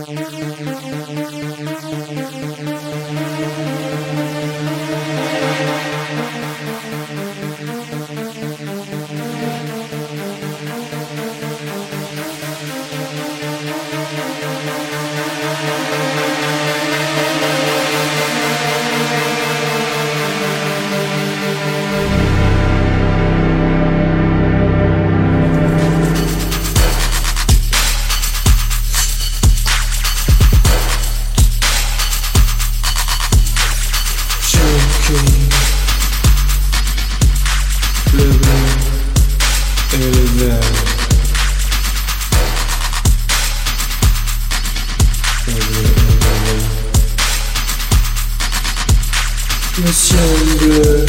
Le ciel bleu,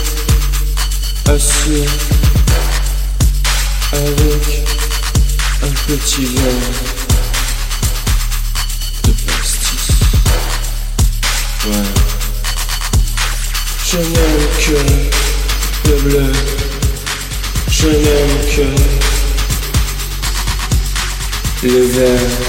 assis avec un petit verre de pastis. Ouais. Je n'aime que le bleu, je n'aime que le vert.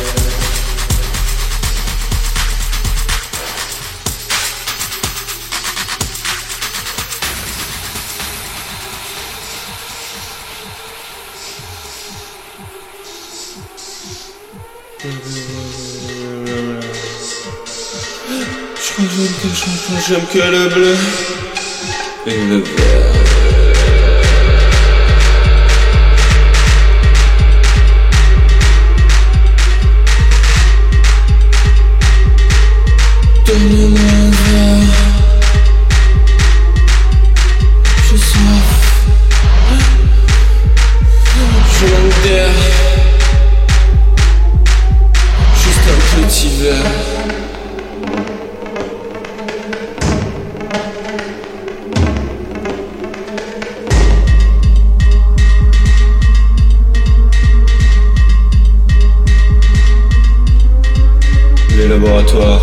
Je crois que j'aime que le champagne, j'aime que le bleu et le vert. Donnez-moi un verre, j'ai soif, je manque d'air, juste un petit verre. Les laboratoires.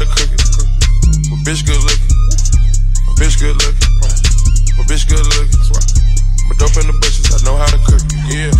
to cook it. My bitch good looking. My bitch good looking. My bitch good looking. My dope in the bushes, I know how to cook it. Yeah.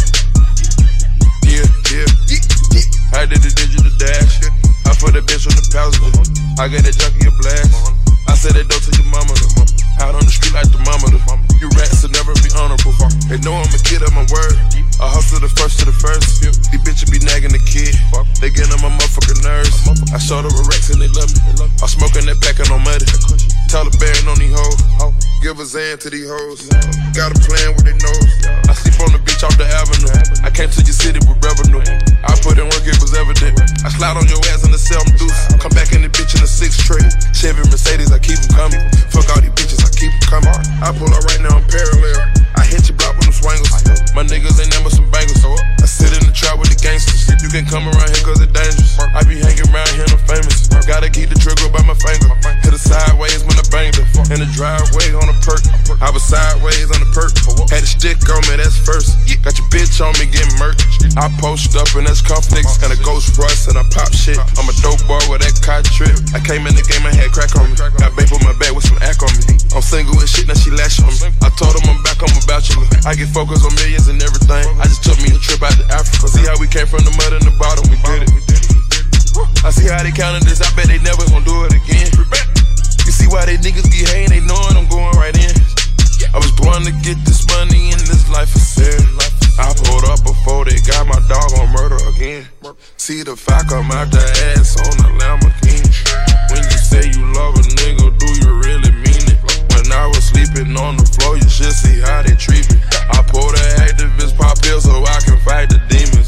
I did the digital dash. I put that bitch on the passenger. I got that junkie a blast. I said that dope to your mama. Out on the street like the mama. You rats will never be honorable. They know I'm a kid of my word. I hustle the first to the first. These bitches be nagging the kid. They get on my motherfucking nerves. I showed up with racks and they love me. I'm smoking that packin' on muddy. Taliban on these hoes. Give a Zan to these hoes. Got a plan with their nose. I sleep on the beach off the avenue. I came to your city with revenue. I put in work, it was evident. I slide on your ass in the cell, I'm deuce. Come back in the bitch in the 6 tray. Chevy Mercedes, I keep them coming. Fuck all these bitches, I keep them coming. I pull up right now, I'm parallel. I hit your block with them swangles. My niggas ain't never some bangles. I sit in the trap with the gangsters. You can come around here cause it's dangerous. I be hanging around here, I'm famous. Gotta keep the trigger by my finger. Hit it sideways when I banged her. In the driveway on a perk. I was sideways on the perk. Had a stick on me, that's first. Got your bitch on me getting murked. I post up and that's conflicts. And a ghost rush and I pop shit. I'm a dope boy with that cot trip. I came in the game, I had crack on me. Got babe on my back with some act on me. I'm single and shit, now she lash on me. I told him I'm back, I'm a bachelor. I get focused on millions and everything. I just took me a trip out to Africa. See how we came from the mud in the bottom, we did it. I see how they counted this, I bet they never gon' do it again. You see why they niggas be hating, they knowin' I'm going right in. I was born to get this money and this life is sad. I pulled up before they got my dog on murder again. See the fire come out the ass on the Lamborghini. When you say you love a nigga, do you really mean it? When I was sleeping on the floor, you should see how they treat me. I pulled the activist pop pill so I can fight the demons.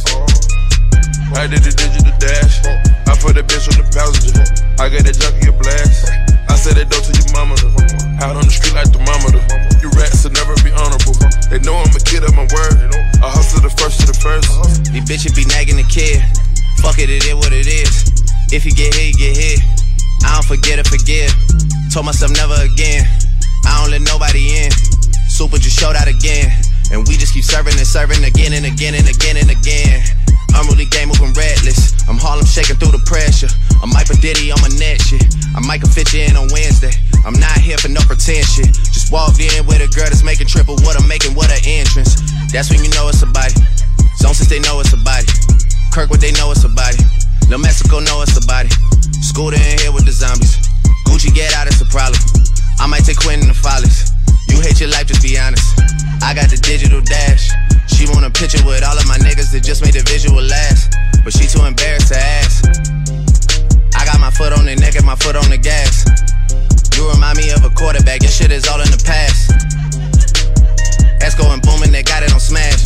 I did the digital dash. I put that bitch on the passenger. I got that junkie a blast. I said that dope to your mama. Out on the street like the mama. You rats will never be honorable. They know I'm a kid of my word. I hustle the first to the first. These bitches be nagging the kid. Fuck it, it is what it is. If you get hit, you get hit. I don't forget or forgive. Told myself never again. I don't let nobody in. Super just showed out again. And we just keep serving and serving again and again and again and again. Unruly game moving reckless. I'm Harlem shaking through the pressure. I'm Mike Diddy on my neck shit. I might fit you in on Wednesday. I'm not here for no pretend shit. Just walked in with a girl that's making triple what I'm making, what an entrance. That's when you know it's a body. Zone since they know it's a body. Kirkwood they know it's a body. Lil Mexico know it's a body. Scooter in here with the zombies. Gucci get out, it's a problem. I might take Quentin the Follies. You hate your life, just be honest. I got the digital dash. She want a picture with all of my niggas that just made the visual last. But she too embarrassed to ask. I got my foot on the neck and my foot on the gas. You remind me of a quarterback, your shit is all in the past. That's going booming, they got it on smash.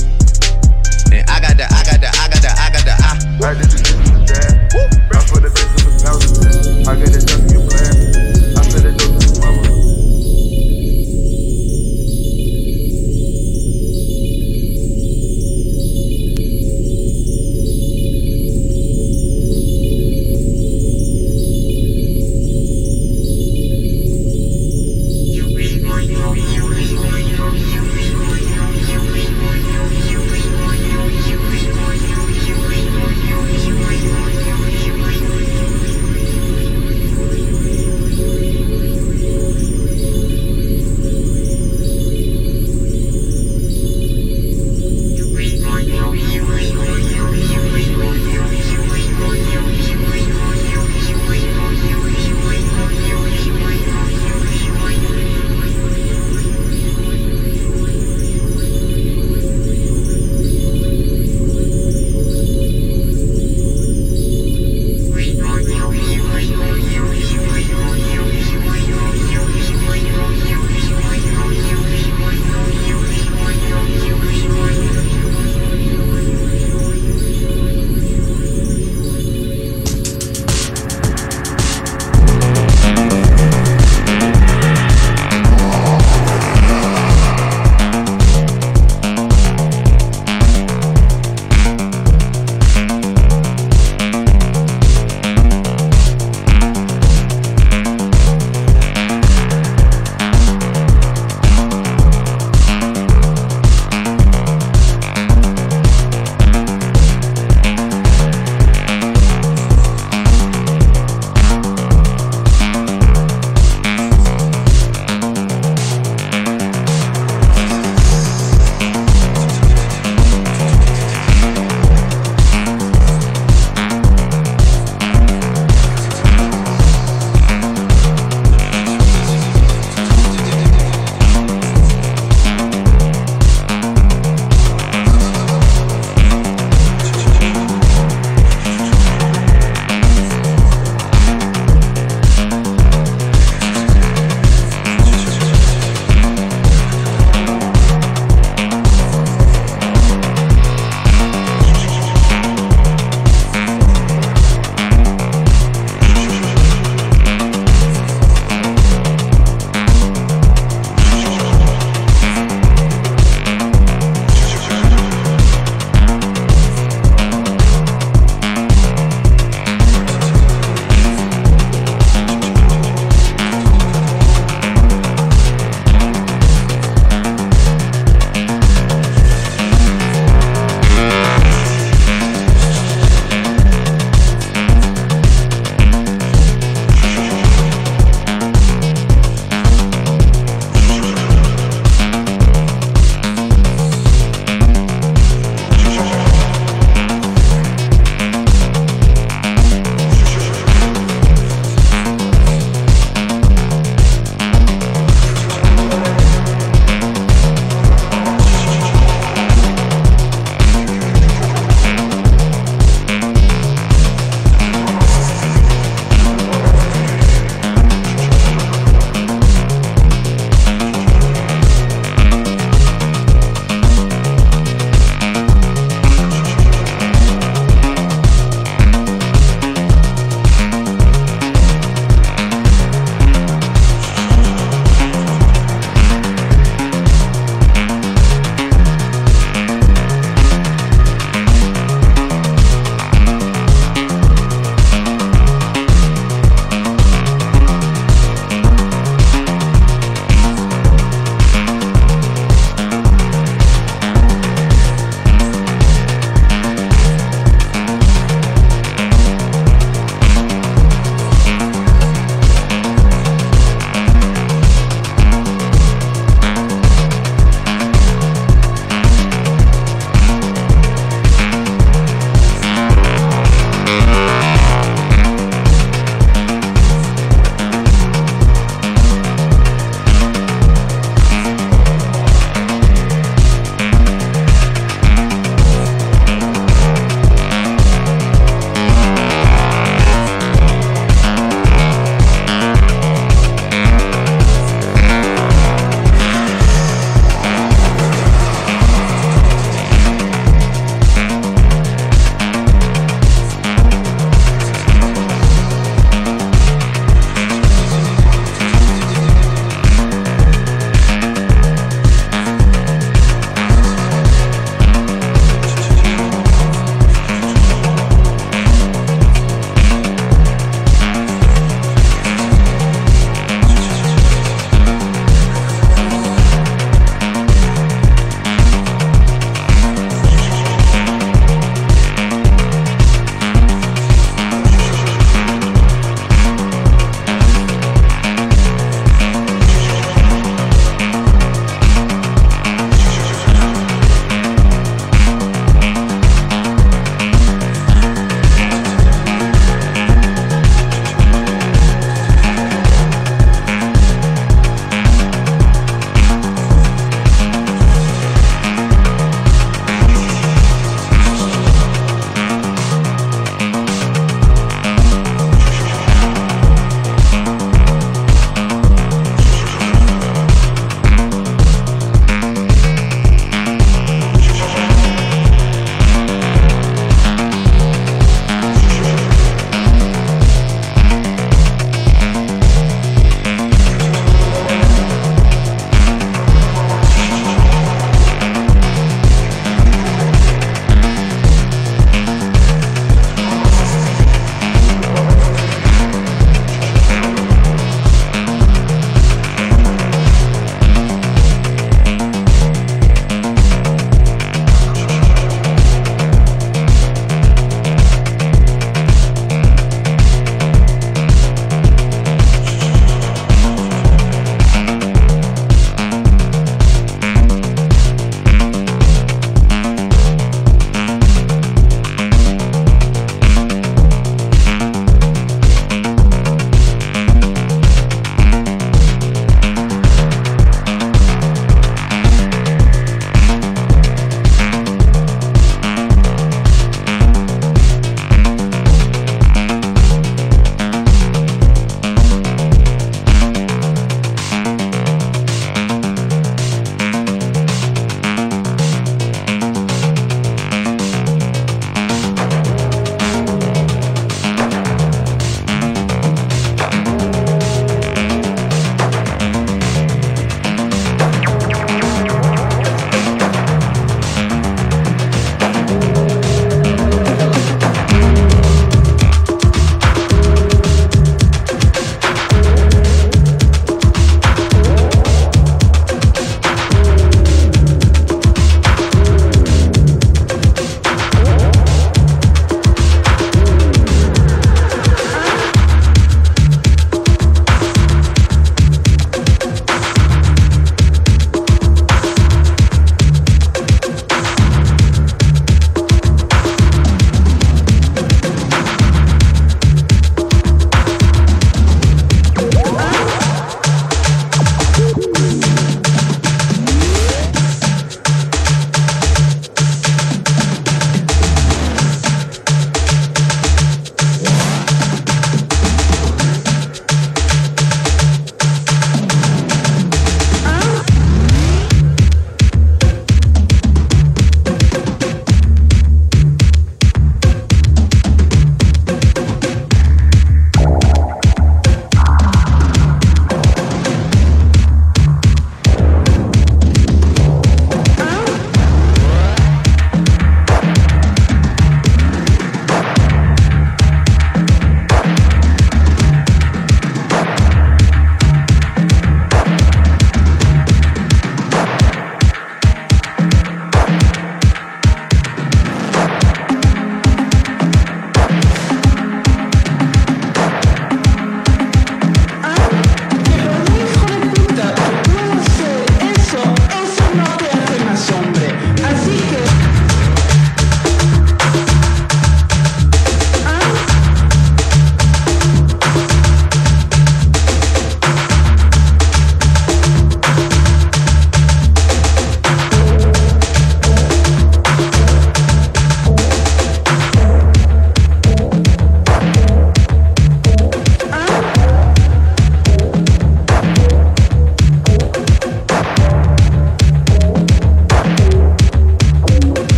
And I got the I did the digital dash. I put the bitch on the passenger. I got that junkie a blast. I said that dope to your mama.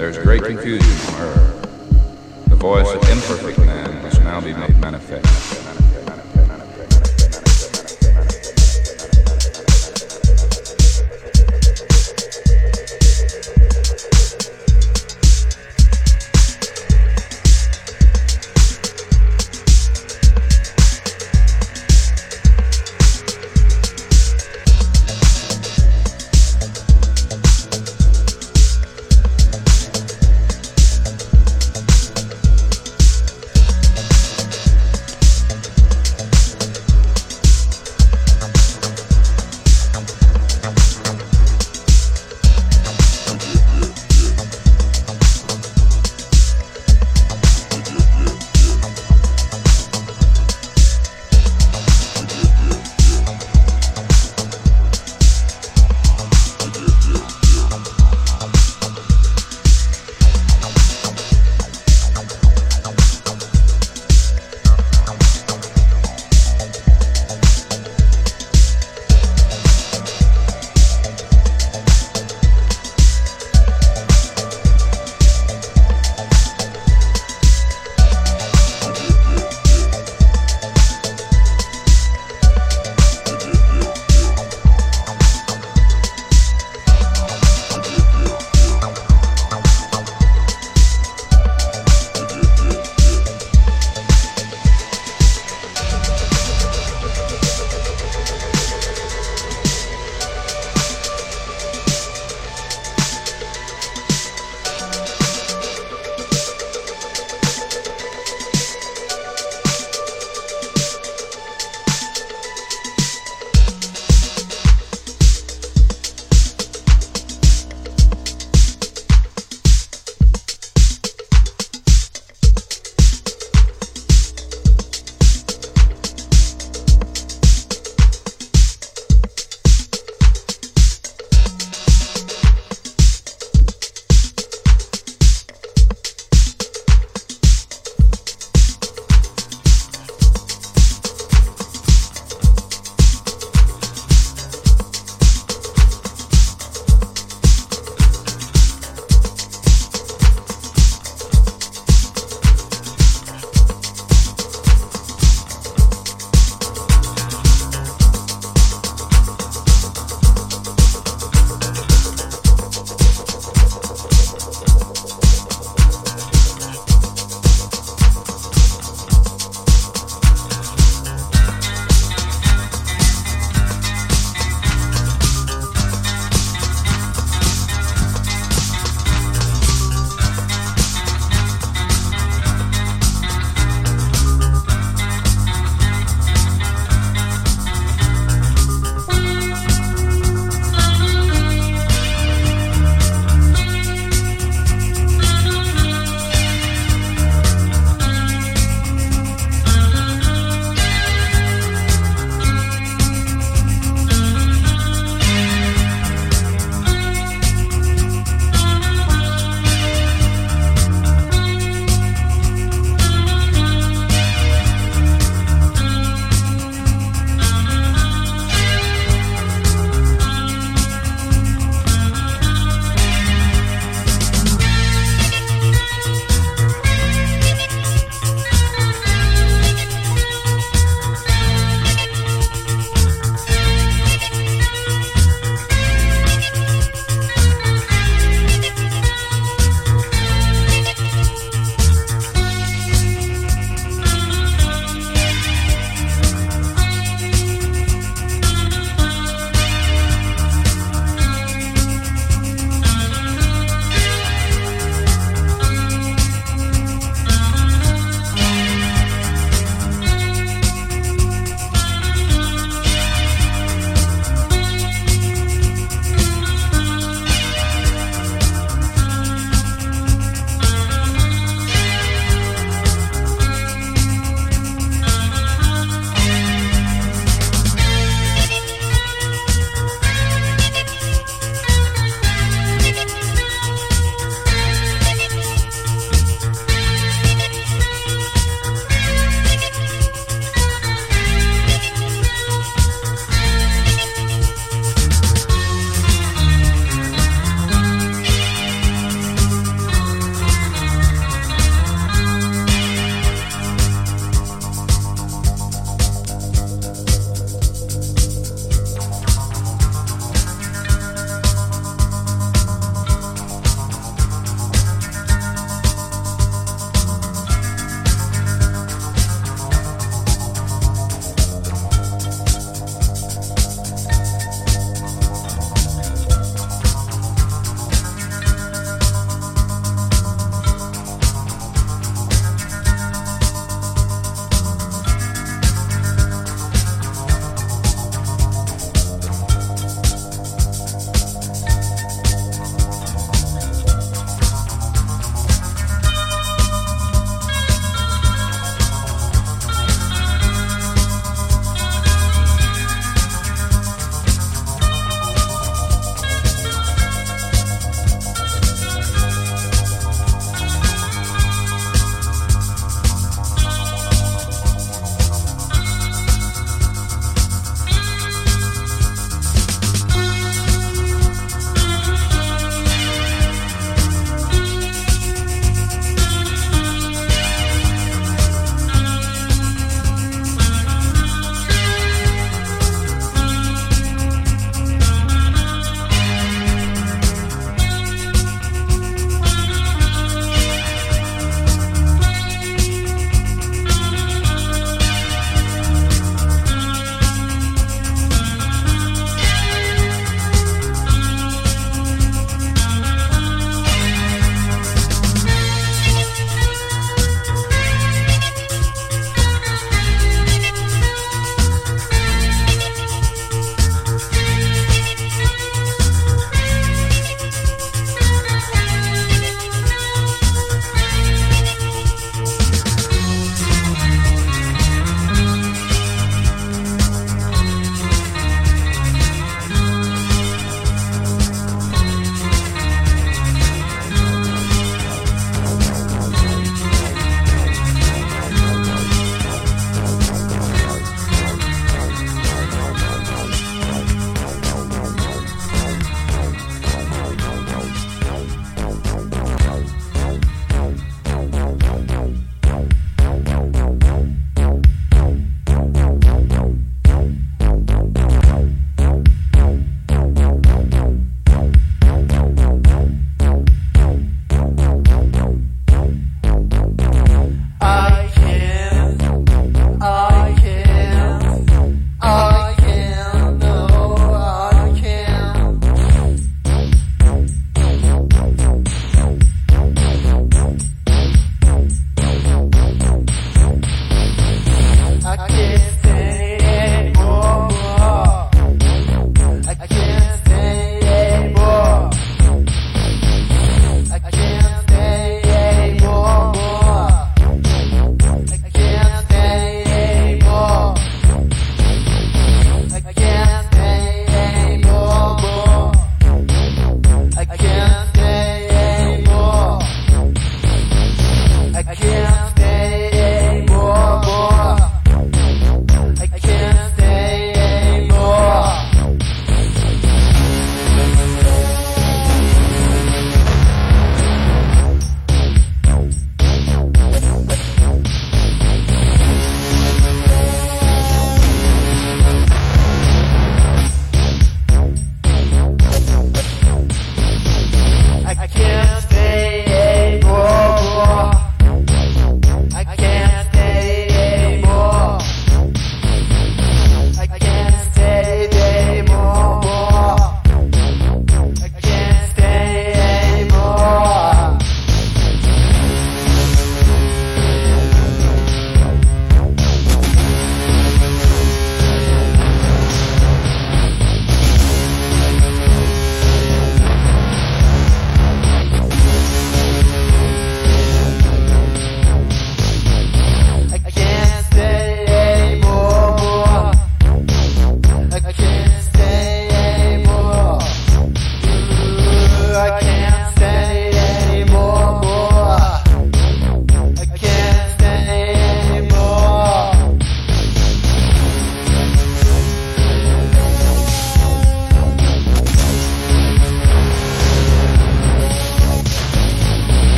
There is great confusion on earth. The voice of imperfect man must now be made manifest.